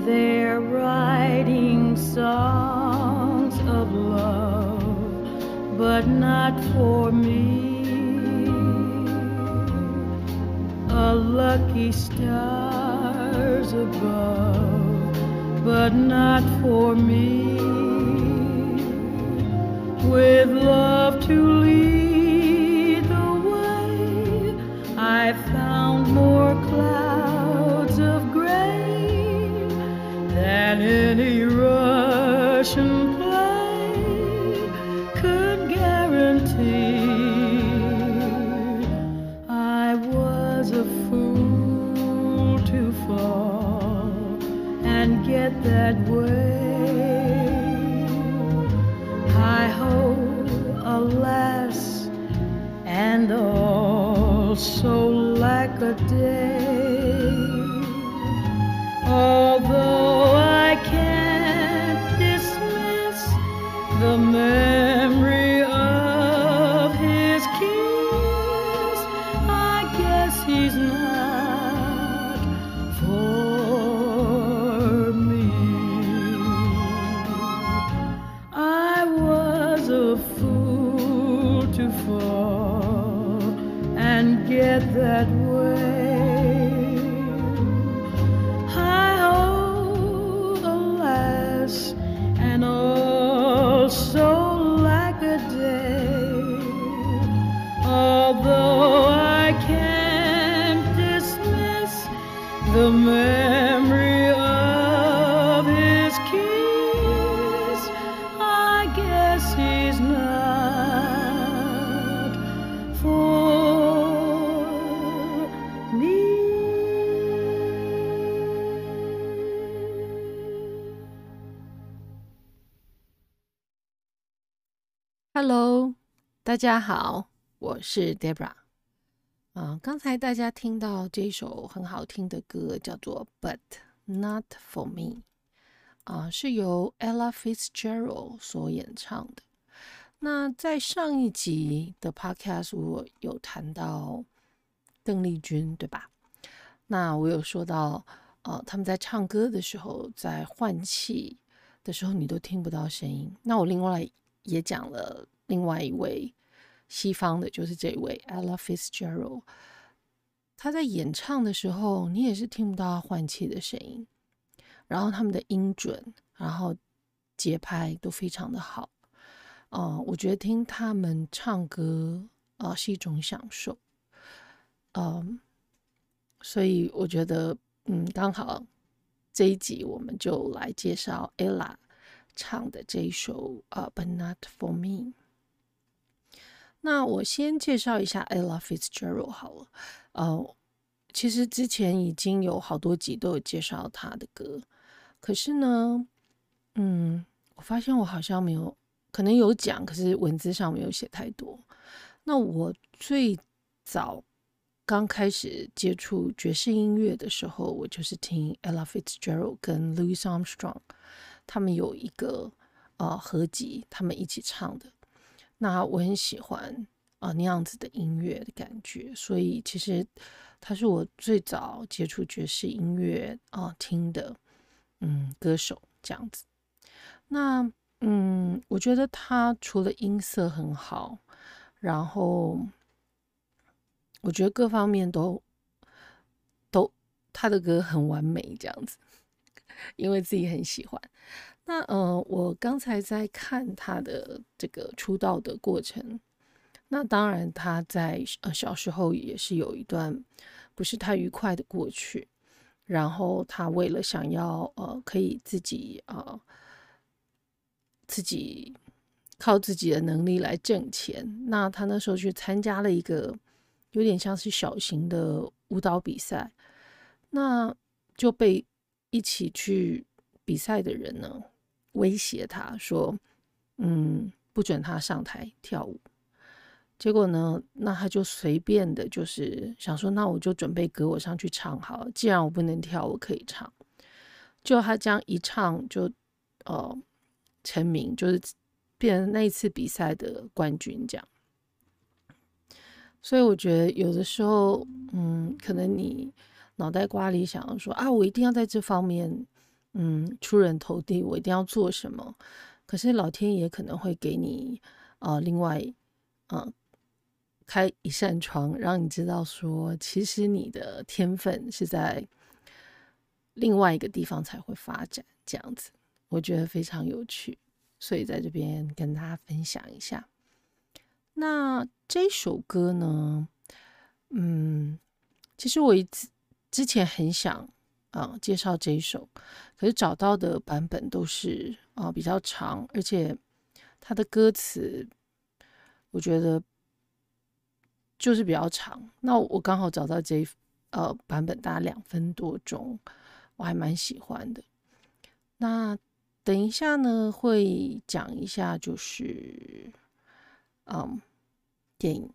They're writing songs of love, but not for me. A lucky stars above, but not for me. With love to lead the way, I found more clouds of gray than any Russian play could guarantee. I was a fool to fall and get that way. Hi-ho, alas, and also lack a day. Although I can't dismiss the memory of his kiss, I guess he's not for me. I was a fool to fall and get that way. Hi-ho, alas, and also lack a day. Although I can't dismiss the memory of his kiss, I guess he's not for me. Hello， 大家好，我是 Debra。刚才大家听到這首很好聽的歌，叫做 But Not For Me， 是由 Ella Fitzgerald 所演唱的。那在上一集的 Podcast 我有談到鄧麗君，對吧？那我有說到，他們在唱歌的時候，在換氣的時候，你都聽不到聲音。那我另外也講了另外一位西方的，就是這位 Ella Fitzgerald， 他在演唱的時候，你也是聽不到他換氣的聲音，然後他們的音準，然後節拍都非常的好。我覺得聽他們唱歌是一種享受。所以我覺得剛好這一集我們就來介紹 Ella 唱的這一首But Not For Me。那我先介紹一下 Ella Fitzgerald 好了。其實之前已經有好多集都有介紹她的歌，可是呢，我發現我好像沒有，可能有講，可是文字上沒有寫太多。那我最早剛開始接觸爵士音樂的時候，我就是聽 Ella Fitzgerald 跟 Louis Armstrong 他們有一個合集，他們一起唱的。那我很喜歡那樣子的音樂的感覺，所以其實他是我最早接觸爵士音樂聽的歌手這樣子。那我覺得他除了音色很好，然後我覺得各方面都他的歌很完美這樣子，因為自己很喜歡。那我剛才在看他的這個出道的過程，那當然他在小時候也是有一段不是太愉快的過去，然後他為了想要可以自己靠自己的能力來掙錢，那他那時候去參加了一個有點像是小型的舞蹈比賽，那就被一起去比賽的人呢威脅他說不准他上台跳舞。結果呢，那他就隨便的就是想說，那我就準備歌我上去唱好了，既然我不能跳我可以唱。就他這樣一唱就成名，就是變成那一次比賽的冠軍這樣。所以我覺得有的時候可能你腦袋瓜裡想說我一定要在這方面出人頭地，我一定要做什麼。可是老天爺可能會給你另外開一扇窗，讓你知道說，其實你的天分是在另外一個地方才會發展，這樣子，我覺得非常有趣，所以在這邊跟大家分享一下。那這首歌呢，其實我之前很想介紹這一首，可是找到的版本都是比較長，而且它的歌詞我覺得就是比較長。那我剛好找到這版本，大概2分多鐘，我還蠻喜歡的。那等一下呢，會講一下就是電影，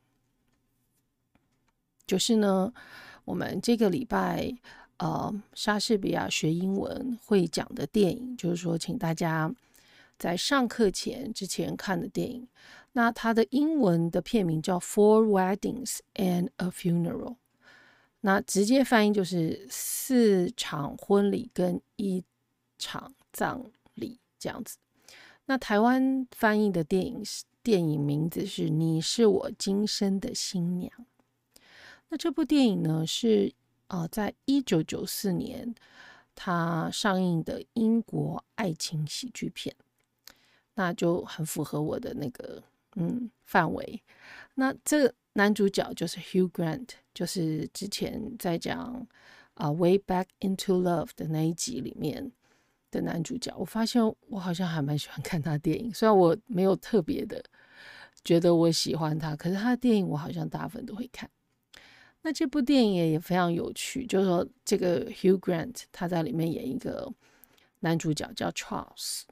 就是呢，我們這個禮拜莎士比亞學英文會講的電影，就是說請大家在上課之前看的電影。那它的英文的片名叫《Four Weddings and a Funeral》，那直接翻譯就是4場婚禮跟1場葬禮這樣子。那台灣翻譯的電影名字是《你是我今生的新娘》。那這部電影呢是在1994年它上映的英國愛情喜劇片，那就很符合我的那個範圍。那這個男主角就是 Hugh Grant， 就是之前在講Way Back into Love 的那一集裡面的男主角。我發現我好像還蠻喜歡看他電影，雖然我沒有特別的覺得我喜歡他，可是他的電影我好像大部分都會看。那這部電影也非常有趣，就是說這個 Hugh Grant 他在裡面演一個男主角叫 Charles。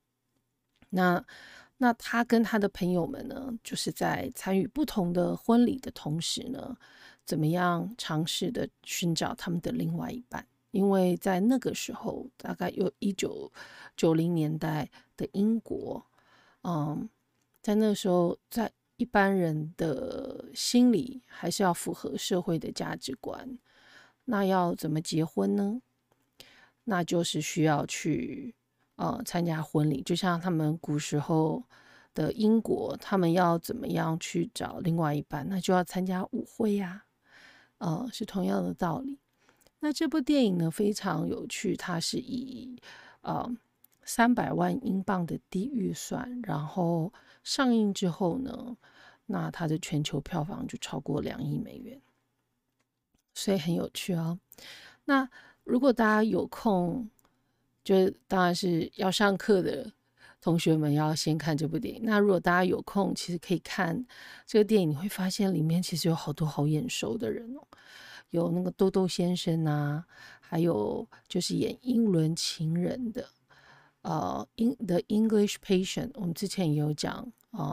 那他跟他的朋友們呢，就是在參與不同的婚禮的同時呢，怎麼樣嘗試的尋找他們的另外一半？因為在那個時候，大概有1990年代的英國，在那個時候，在一般人的心裡還是要符合社會的價值觀。那要怎麼結婚呢？那就是需要去參加婚禮，就像他們古時候的英國，他們要怎麼樣去找另外一半？那就要參加舞會呀，是同樣的道理。那這部電影呢非常有趣，它是以300萬英鎊的低預算，然後上映之後呢，那它的全球票房就超過2億美元，所以很有趣哦。那如果大家有空，就當然是要上課的同學們要先看這部電影。那如果大家有空，其實可以看這個電影，你會發現裡面其實有好多好眼熟的人哦，有那個豆豆先生啊，還有就是演英倫情人的The English Patient， 我們之前也有講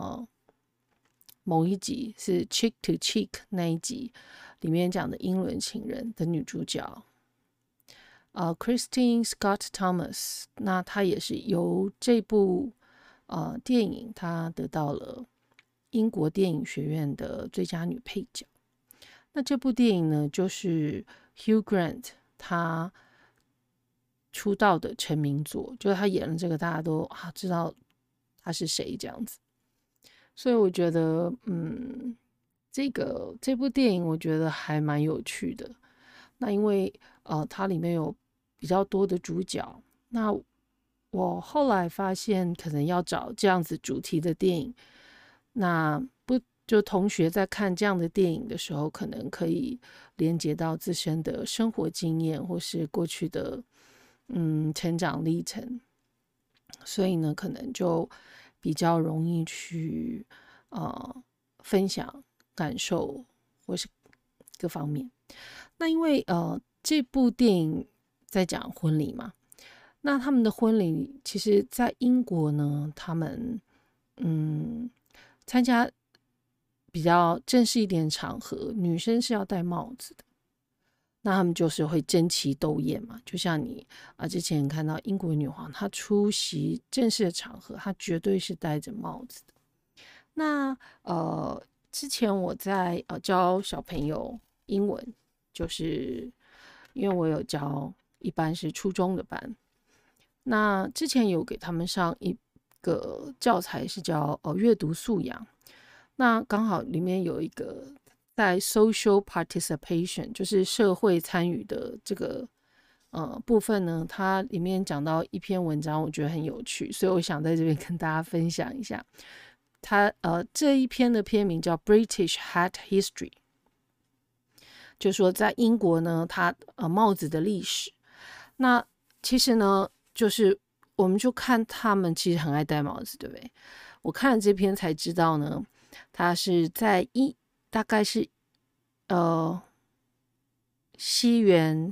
某一集是 Cheek to Cheek 那一集裡面講的英倫情人的女主角Christine Scott Thomas， 那她也是由這部電影她得到了英國電影學院的最佳女配角。那這部電影呢，就是 Hugh Grant 他出道的成名作，就是他演了這個，大家都知道他是誰這樣子。所以我覺得，這部電影我覺得還蠻有趣的。那因為它裡面有比較多的主角，那我後來發現，可能要找這樣子主題的電影，那就同學在看這樣的電影的時候，可能可以連接到自身的生活經驗，或是過去的成長歷程，所以呢，可能就比較容易去分享感受或是各方面。那因為這部電影在講婚禮嘛，那他們的婚禮其實在英國呢，他們參加比較正式一點的場合，女生是要戴帽子的。那他們就是會爭奇鬥豔嘛，就像你之前看到英國女皇，她出席正式的場合，她絕對是戴着帽子的。那之前我在教小朋友英文，就是因為我有教一般是初中的班， 那之前有給他們上一個教材是叫閱讀素養，那剛好裡面有一個在 social participation 就是社會參與的這個部分呢，它裡面講到一篇文章，我覺得很有趣，所以我想在這邊跟大家分享一下。它這一篇的篇名叫 British Hat History， 就說在英國呢，它帽子的歷史。那其實呢，就是我們就看他們其實很愛戴帽子，對不对？我看了這篇才知道呢，它是在大概是西元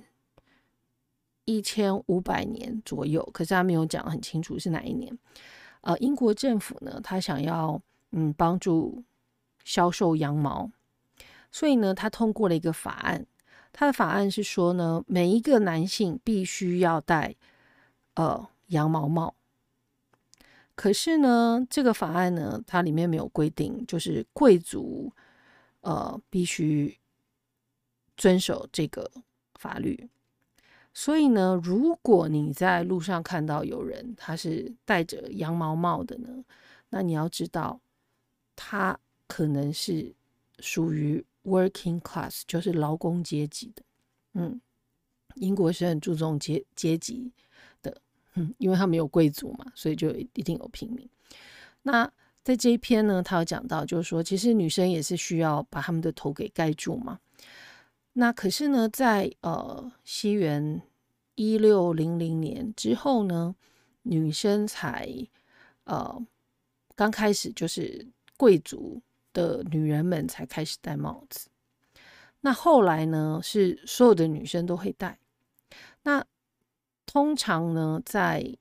1500年左右，可是他沒有講很清楚是哪一年。英國政府呢，他想要幫助銷售羊毛，所以呢，他通過了一個法案。他的法案是說呢，每一個男性必須要戴羊毛帽。可是呢，這個法案呢，它裡面沒有規定，就是貴族必須遵守這個法律。所以呢，如果你在路上看到有人他是戴着羊毛帽的呢，那你要知道，他可能是屬於 working class， 就是勞工階級的。英國是很注重階級的，因為他沒有貴族嘛，所以就一定有平民。那在這一篇呢，他有講到，就是說，其實女生也是需要把他們的頭給蓋住嘛。那可是呢，在西元1600年之後呢，女生才剛開始，就是貴族的女人們才開始戴帽子。那後來呢，是所有的女生都會戴。那通常呢，在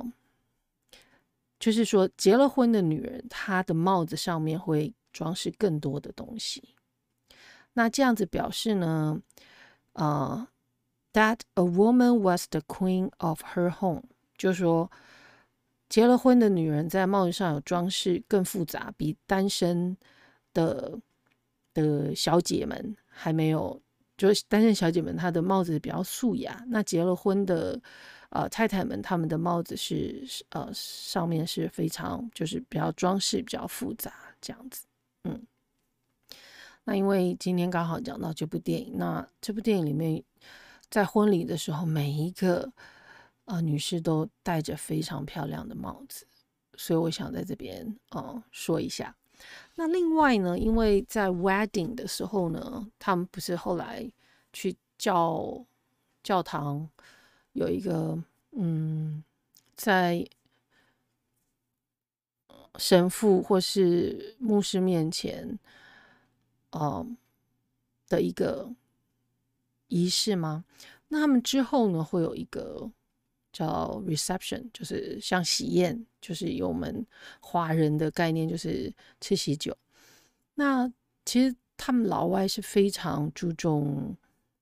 就是說結了婚的女人，她的帽子上面會裝飾更多的東西。那這樣子表示呢，that a woman was the queen of her home， 就是說結了婚的女人在帽子上有裝飾更複雜，比單身的小姐們還沒有，就是單身小姐們她的帽子比較素雅，那結了婚的太太們她們的帽子是上面是非常就是比較裝飾比較複雜這樣子。那因為今天剛好講到這部電影，那這部電影裡面在婚禮的時候，每一個女士都戴着非常漂亮的帽子，所以我想在這邊說一下。那另外呢，因為在 wedding 的時候呢，他們不是後來去教堂有一個在神父或是牧師面前的一個儀式嗎？那他們之後呢，會有一個叫 reception， 就是像喜宴，就是有我們華人的概念，就是吃喜酒。那其實他們老外是非常注重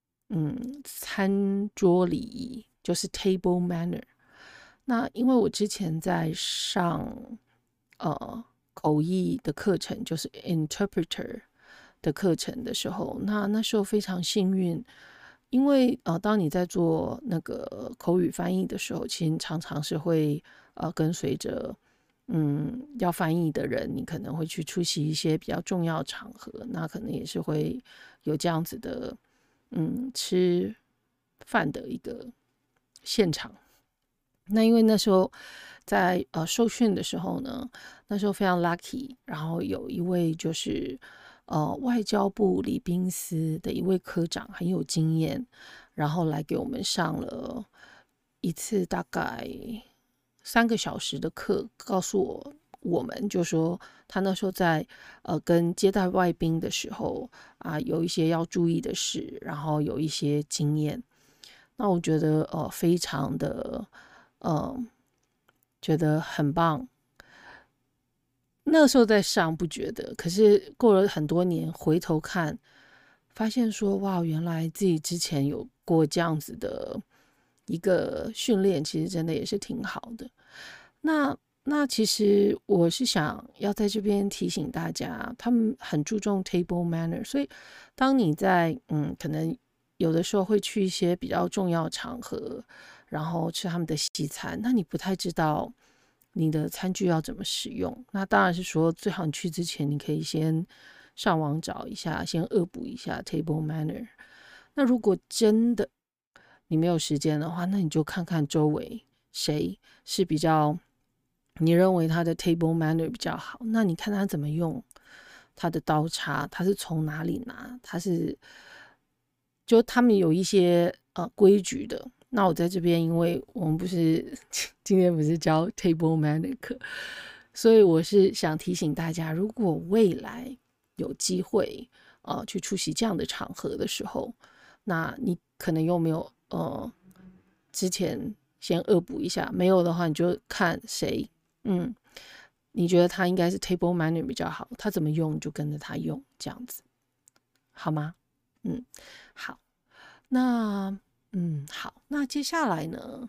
餐桌禮儀，就是 table manner。那因為我之前在上口譯的課程，就是 interpreter 的課程的時候，那時候非常幸運，因為當你在做那個口語翻譯的時候，其實常常是會跟隨着要翻譯的人，你可能會去出席一些比較重要的場合，那可能也是會有這樣子的吃飯的一個現場。那因為那時候在受訓的時候呢，那時候非常 lucky， 然後有一位就是外交部禮賓司的一位科長很有經驗，然後來給我們上了一次大概3個小時的課，告訴我們就說他那時候在跟接待外賓的時候有一些要注意的事，然後有一些經驗。那我覺得非常的覺得很棒。那時候在上不覺得，可是過了很多年回頭看，發現說哇，原來自己之前有過這樣子的一個訓練，其實真的也是挺好的。那其實我是想要在這邊提醒大家，他們很注重 table manner， 所以當你在可能有的時候會去一些比較重要的場合，然後吃他們的西餐，那你不太知道你的餐具要怎麼使用。那當然是說，最好你去之前，你可以先上網找一下，先惡補一下 table manner。那如果真的你沒有時間的話，那你就看看周圍誰是比較你認為他的 table manner 比較好，那你看他怎麼用他的刀叉，他是從哪裡拿，就他們有一些規矩的。那我在這邊，因為我們今天不是教 table manner 課，所以我是想提醒大家，如果未來有機會去出席這樣的場合的時候，那你可能又沒有之前先惡補一下，沒有的話你就看誰你覺得他應該是 table manner 比較好，他怎麼用你就跟着他用，這樣子好嗎？好，那好，那接下來呢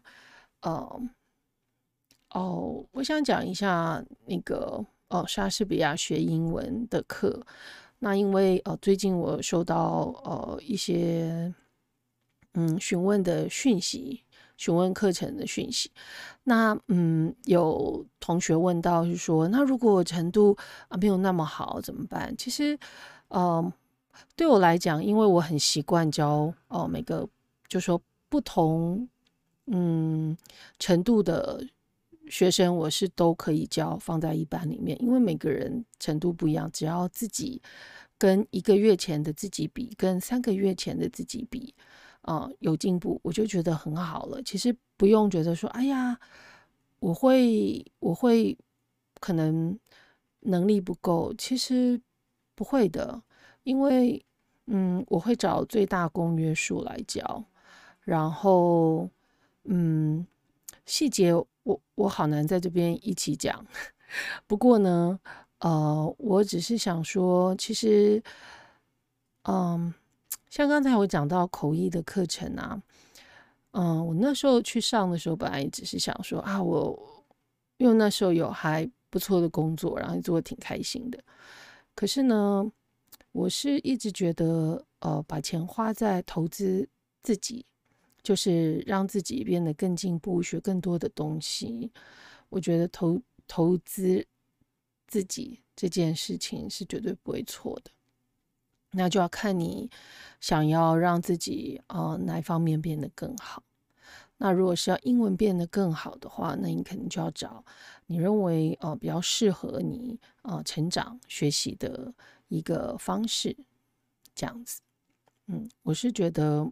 我想講一下那個莎士比亞學英文的課。那因為最近我收到一些詢問的訊息，詢問課程的訊息。那有同學問到是說，那如果程度沒有那麼好怎麼辦？其實對我來講，因為我很習慣教每個就說不同程度的學生，我是都可以教放在一班裡面，因為每個人程度不一樣，只要自己跟1個月前的自己比，跟3個月前的自己比有进步，我就覺得很好了。其實不用覺得说，哎呀，我会可能能力不夠，其實不會的，因為我會找最大公約數來教，然後細節我好難在這邊一起講。不過呢我只是想說，其實像剛才我講到口譯的課程啊，我那時候去上的時候，本來也只是想說因為那時候有還不錯的工作，然後做得挺開心的。可是呢，我是一直覺得把錢花在投資自己，就是讓自己變得更進步，學更多的東西。我覺得投資自己這件事情是絕對不會錯的。那就要看你想要讓自己哪一方面變得更好。那如果是要英文变得更好的話，那你肯定就要找你認為比較適合你成長學習的一個方式，這樣子。我是覺得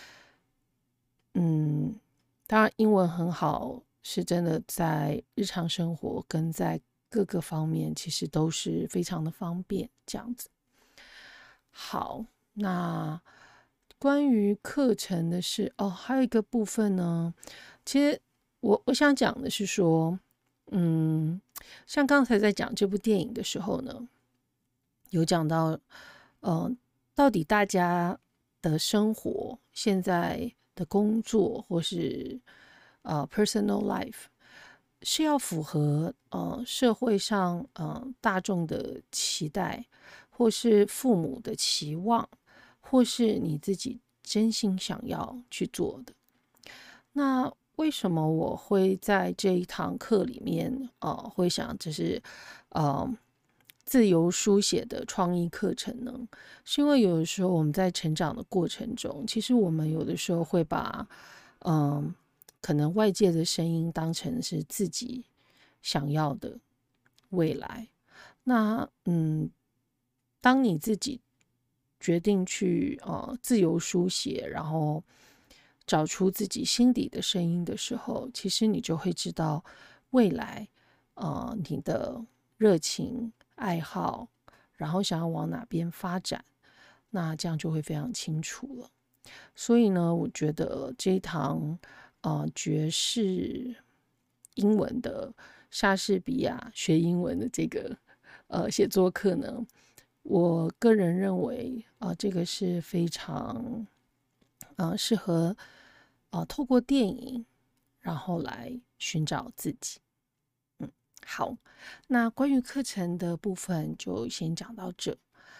當然英文很好，是真的在日常生活跟在各個方面其實都是非常的方便，這樣子。好，那關於課程的事還有一個部分呢，其實我想講的是說，像剛才在講這部電影的時候呢，有講到到底大家的生活、現在的工作或是personal life 是要符合社會上大眾的期待，或是父母的期望，或是你自己真心想要去做的。那為什麼我會在這一堂課裡面會想這是自由書寫的創意課程呢？是因為有的時候我們在成長的過程中，其實我們有的時候會把可能外界的聲音當成是自己想要的未来。那當你自己決定去自由書寫，然後找出自己心底的聲音的時候，其實你就會知道未來你的熱情愛好，然後想要往哪邊發展，那這樣就會非常清楚了。所以呢，我覺得這一堂爵士英文的莎士比亞學英文的這個寫作課呢，我個人認為這個是非常適合透過電影然後來尋找自己。好，那關於課程的部分就先講到這。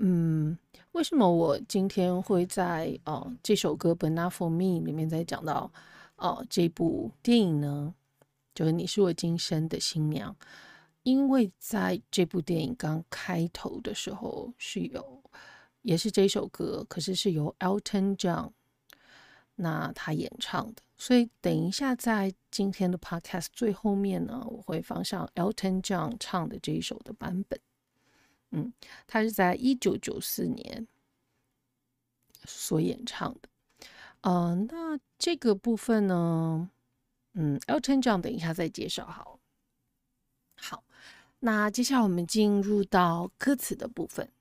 為什麼我今天會在這首歌《But Not For Me》裡面再講到這部電影呢？就是你是我今生的新娘，因為在這部電影剛開頭的時候也是這首歌，可是是由 Elton John 那他演唱的，所以等一下在今天的 podcast 最後面呢，我會放上 Elton John 唱的這一首的版本。他是在1994年所演唱的。那這個部分呢，Elton John 等一下再介紹好。好，那接下來我們進入到歌詞的部分。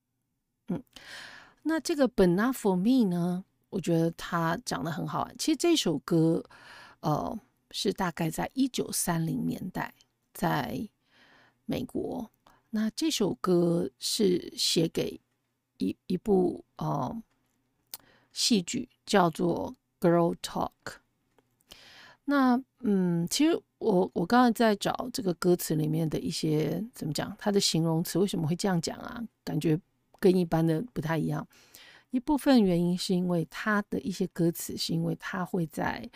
那這個 But Not For Me 呢，我覺得它講得很好玩。其實這首歌，是大概在1930年代在美國。那這首歌是寫給一部戲劇，叫做《Girl Talk》。那其實我剛才在找這個歌詞裡面的一些怎麼講，它的形容詞為什麼會這樣講啊？感覺跟一般的不太一樣。一部分原因是因為它的一些歌詞是因為它會在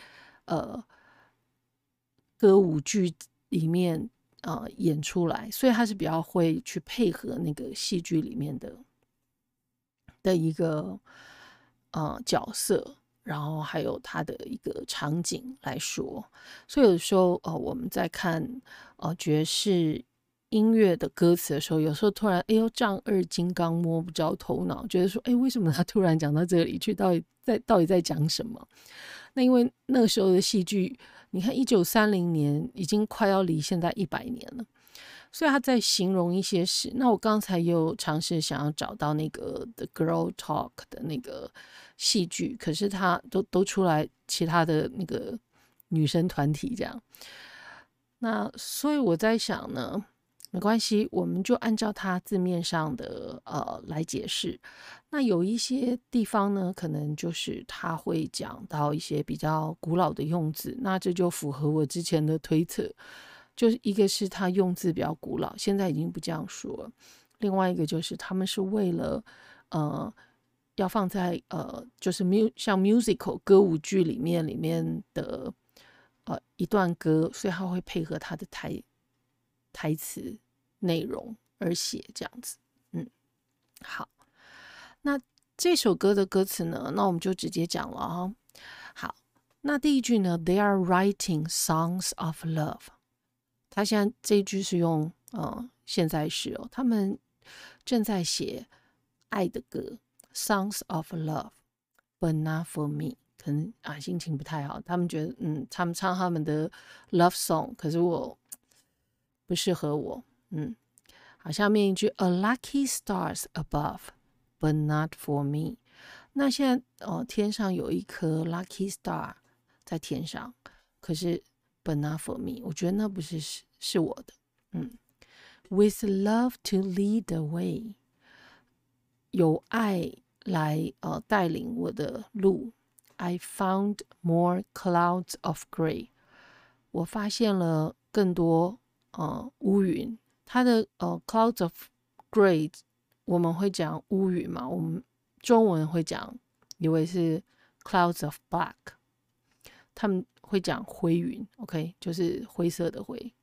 歌舞劇裡面演出來，所以他是比較會去配合那個戲劇裡面的一個角色，然後還有他的一個場景來說。所以有的時候我們在看爵士音樂的歌詞的時候，有時候突然丈二金剛摸不着頭腦，覺得說為什麼他突然講到這裡去，到底在講什麼？那因為那個時候的戲劇，你看1930年已經快要離現在100年了，所以他在形容一些事。那我剛才又嘗試想要找到那個 The Girl Talk 的那個戲劇，可是他都出來其他的那個女生團體這樣。那所以我在想呢，沒關係，我們就按照它字面上的來解釋。那有一些地方呢，可能就是他會講到一些比較古老的用字，那這就符合我之前的推測，就是一個是他用字比較古老，現在已經不這樣說了；另外一個就是他們是為了要放在就是像 musical 歌舞劇裡面的一段歌，所以他會配合他的台詞內容而寫這樣子。好，那這首歌的歌詞呢，那我們就直接講了好，那第一句呢 ，They are writing songs of love。他現在這一句是用現在時他們正在寫愛的歌 ，songs of love，but not for me。可能心情不太好，他們覺得他們唱他們的 love song， 可是我不適合我。好，下面一句 A lucky stars above but not for me。 那現在天上有一顆 lucky star 在天上，可是 but not for me， 我覺得那不是我的。With love to lead the way， 有愛來帶領我的路。I found more clouds of gray， 我發現了更多烏雲。它的clouds of gray 我們會講烏雲嘛，我們中文會講以為是 clouds of black， 他們會講灰雲 OK， 就是灰色的灰。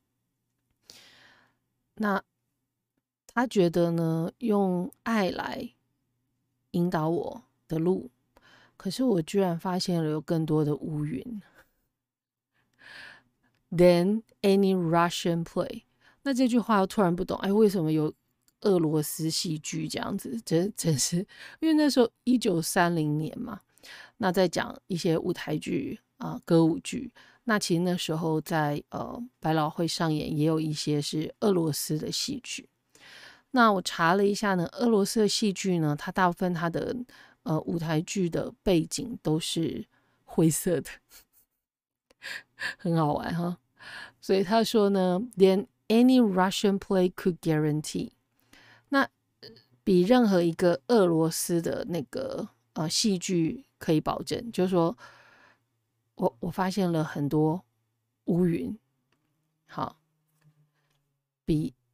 那他覺得呢，用愛來引導我的路，可是我居然發現了有更多的烏雲。Then any Russian play， 那這句話我突然不懂，為什麼有俄羅斯戲劇這樣子？真是，因為那時候1930年嘛，那在講一些舞台劇歌舞劇。那其實那時候在百老匯上演也有一些是俄羅斯的戲劇。那我查了一下呢，俄羅斯的戲劇呢，它大部分它的舞台劇的背景都是灰色的，很好玩哈。所以他說呢 ，Then any Russian play could guarantee， 那比任何一個俄羅斯的那個戲劇可以保證，就是說我發現了很多烏雲，好，比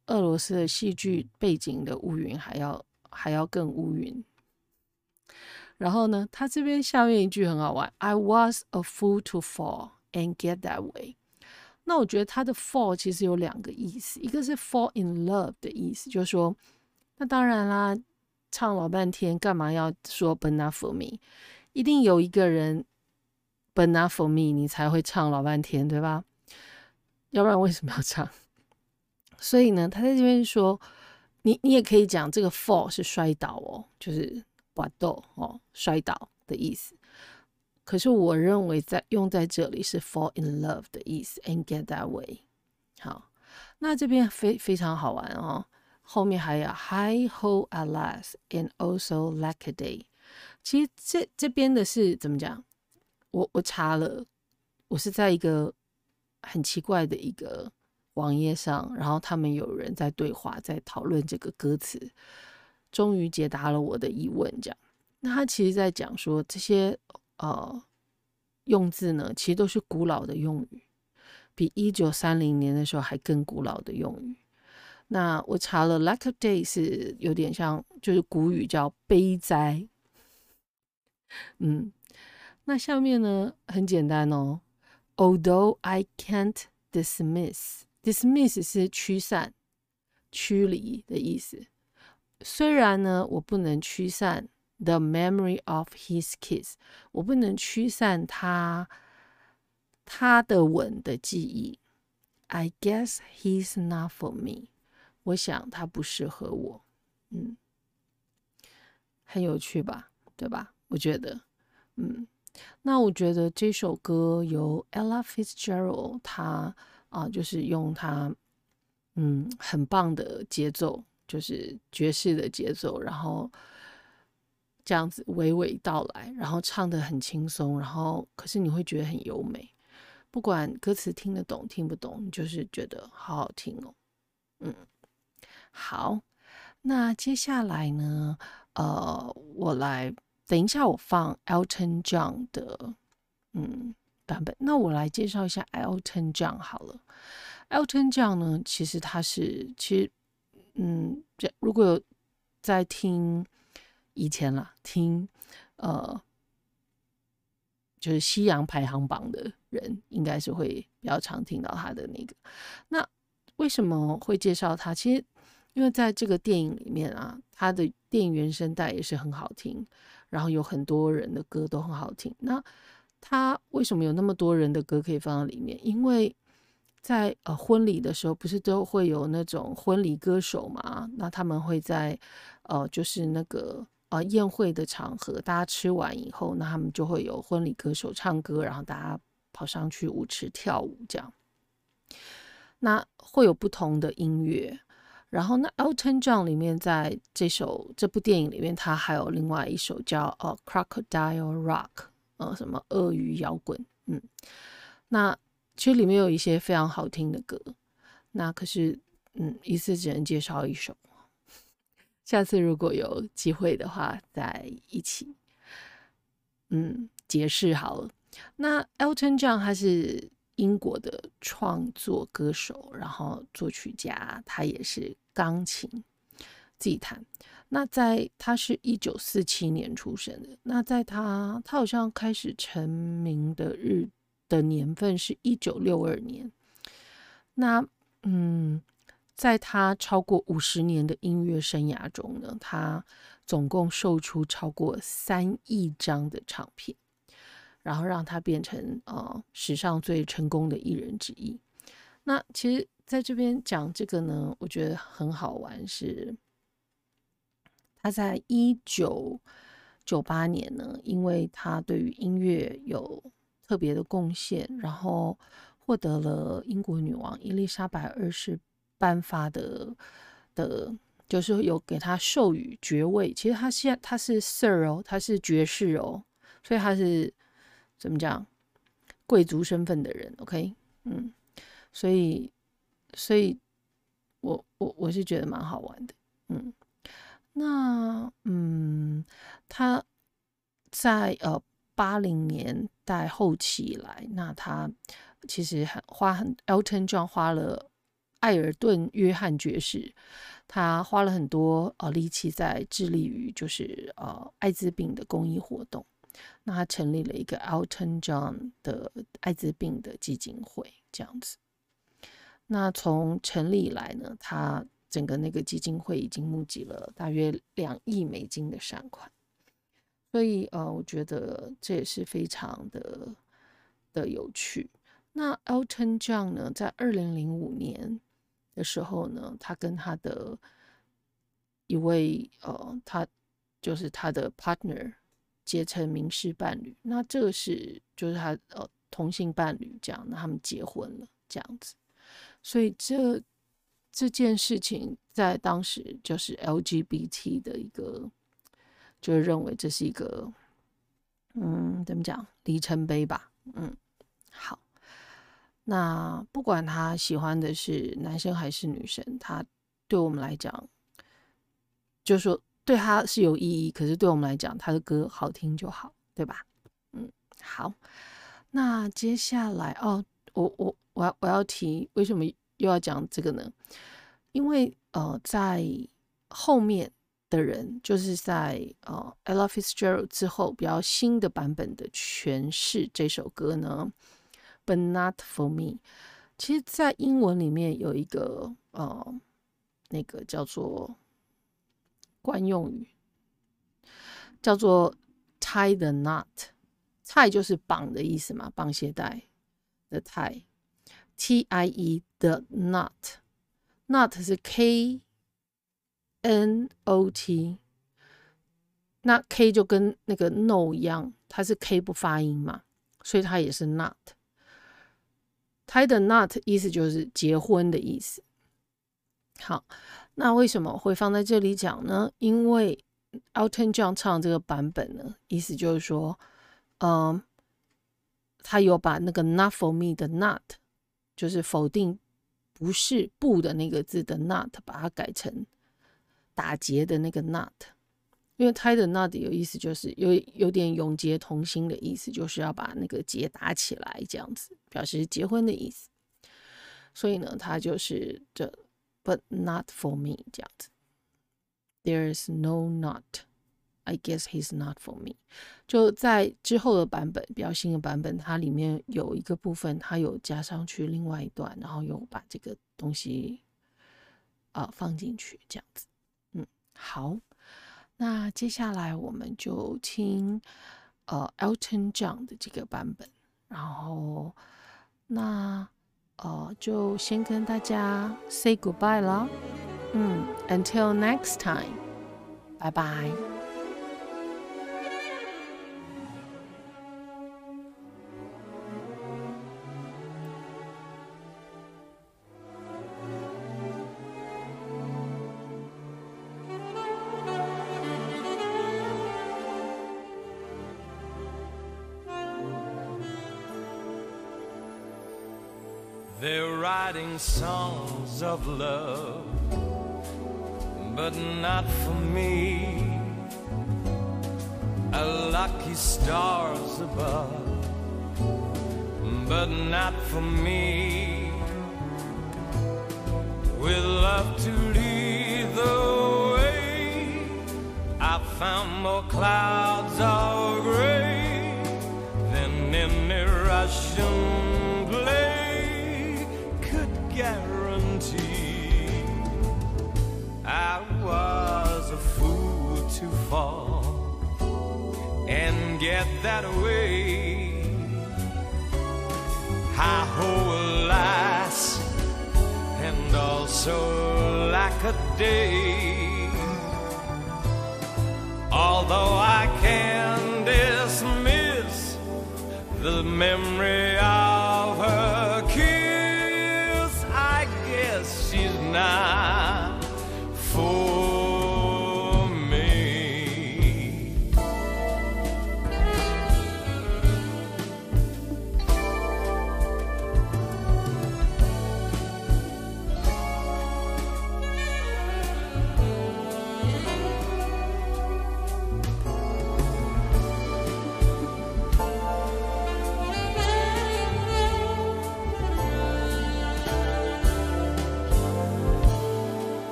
俄羅斯的戲劇背景的烏雲還要更烏雲。然後呢，他這邊下面一句很好玩 ，I was a fool to fall and get that way。那我覺得他的 fall 其實有2個意思，一個是 fall in love 的意思，就是說，那當然啦，唱老半天幹嘛要說 But not for me？ 一定有一個人 But not for me， 你才會唱老半天，對吧？要不然為什麼要唱？所以呢，他在這邊說，你也可以講這個 fall 是摔倒哦，就是滑倒哦，摔倒的意思。可是我認為用在這裡是 fall in love 的意思 and get that way。好，那這邊非常好玩哦，後面還有 Hi ho alas and also lack a day。其實這邊的是怎麼講？我查了，我是在一個很奇怪的一個網頁上，然後他們有人在對話，在討論這個歌詞，終於解答了我的疑問。這樣，那他其實在講說這些用字呢，其實都是古老的用語，比1930年的時候還更古老的用語。那我查了 lack a day 是有點像，就是古語叫悲哉。那下面呢很簡單哦 ，Although I can't dismiss 是驅散、驅離的意思。雖然呢，我不能驅散 the memory of his kiss， 我不能驅散他的吻的記憶。I guess he's not for me， 我想他不適合我。很有趣吧，對吧？我覺得，那我覺得這首歌由 Ella Fitzgerald 他就是用他很棒的節奏，就是爵士的節奏，然後這樣子娓娓道來，然後唱得很輕鬆，然後可是你會覺得很優美，不管歌詞聽得懂聽不懂，你就是覺得好好聽哦。好，那接下來呢，我來等一下我放 Elton John 的版本。那我來介紹一下 Elton John 好了。Elton John 呢，其實他是如果有在聽以前啦，聽就是西洋排行榜的人，應該是會比較常聽到他的那個。那為什麼會介紹他？其實因為在這個電影裡面啊，他的電影原聲帶也是很好聽，然後有很多人的歌都很好聽。那他為什麼有那麼多人的歌可以放在裡面？因為在婚禮的時候，不是都會有那種婚禮歌手嘛？那他們會在就是那個宴會的場合，大家吃完以後，那他們就會有婚禮歌手唱歌，然後大家跑上去舞池跳舞這樣。那會有不同的音樂。然後那 Elton John 裡面在這部電影裡面，他還有另外一首叫Crocodile Rock， 什麼鱷魚搖滾。那其實裡面有一些非常好聽的歌。那可是一次只能介紹一首，下次如果有機會的話再一起解釋好了。那 Elton John 他是英國的創作歌手，然後作曲家，他也是鋼琴自己彈。那他是1947年出生的。那在他好像開始成名的年份是1962年。那在他超過50年的音樂生涯中呢，他總共售出超過3億張的唱片，然後讓他變成史上最成功的藝人之一。那其實在這邊講這個呢，我覺得很好玩，是他在1998年呢，因為他對於音樂有特別的貢獻，然後獲得了英國女王伊麗莎白2世頒發的，就是有給他授予爵位。其實他是 Sir 哦，他是爵士哦，所以他是怎麼講貴族身份的人 ，OK， 所以我是覺得蠻好玩的，那他在80年代後期以來，那他其實Elton John 花了艾爾頓·約翰爵士，他花了很多力氣在致力於就是艾滋病的公益活動。那他成立了一個 Elton John 的艾滋病的基金會，這樣子。那從成立以來呢，他整個那個基金會已經募集了大約2億美金的善款。所以我覺得這也是非常的有趣。那 Elton John 呢，在2005年的時候呢，他跟他的一位他就是他的 partner 結成民事伴侶。那這個是就是他同性伴侶這樣，那他們結婚了這樣子。所以這件事情在當時就是 LGBT 的一個。就是認為這是一個，怎麼講，里程碑吧。好，那不管他喜歡的是男生還是女生，他對我們來講，就是說對他是有意義，可是對我們來講，他的歌好聽就好，對吧？好，那接下來我要提為什麼又要講這個呢？因為在後面。的人就是在Ella Fitzgerald 之後比較新的版本的詮釋這首歌呢 But Not For Me。 其實在英文裡面有一個那個叫做慣用語叫做 tie the knot。 tie 就是綁的意思嘛，綁鞋帶的 tie， T-I-E the knot， knot 是 K-N-O-T， 那 K 就跟那個 no 一樣，它是 K 不發音嘛，所以它也是 not。 tie the knot 意思就是結婚的意思。好，那為什麼會放在這裡講呢？因為 Elton John 唱這個版本呢，意思就是說他有把那個 not for me 的 not， 就是否定不是不的那個字的 not， 把它改成打結的那個 not。 因為 tie the knot 有意思就是有點永結同心的意思，就是要把那個結打起來，這樣子表示結婚的意思。所以呢，他就是這 but not for me 這樣子。 There's no knot， I guess he's not for me。 就在之後的版本，比較新的版本，它裡面有一個部分，它有加上去另外一段，然後有把這個東西放進去，這樣子。好，那接下來我們就聽Elton John 的這個版本，然後那就先跟大家 say goodbye 了。Until next time， 拜拜。 They're writing songs of love, but not for me. A lucky stars above, but not for me. With love to lead the way, I found more clouds of gray than any Russian play guarantee. I was a fool to fall and get that way. Hi-ho, alas, and also lack a day. Although I can dismiss the memory of her kiss, she's not for me.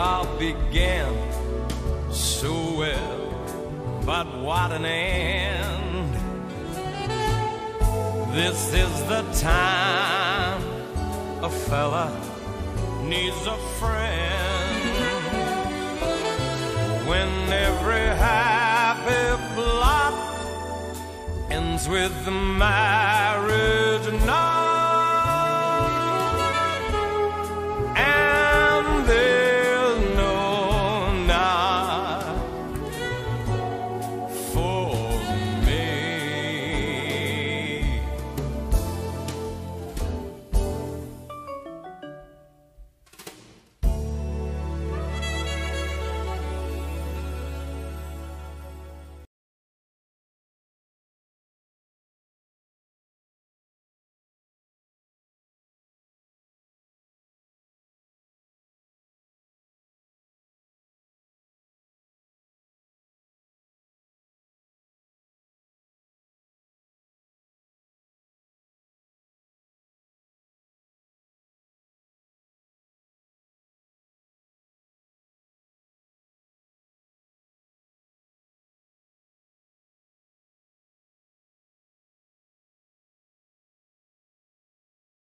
all began so well, but what an end. This is the time a fella needs a friend, when every happy plot ends with the marriage night.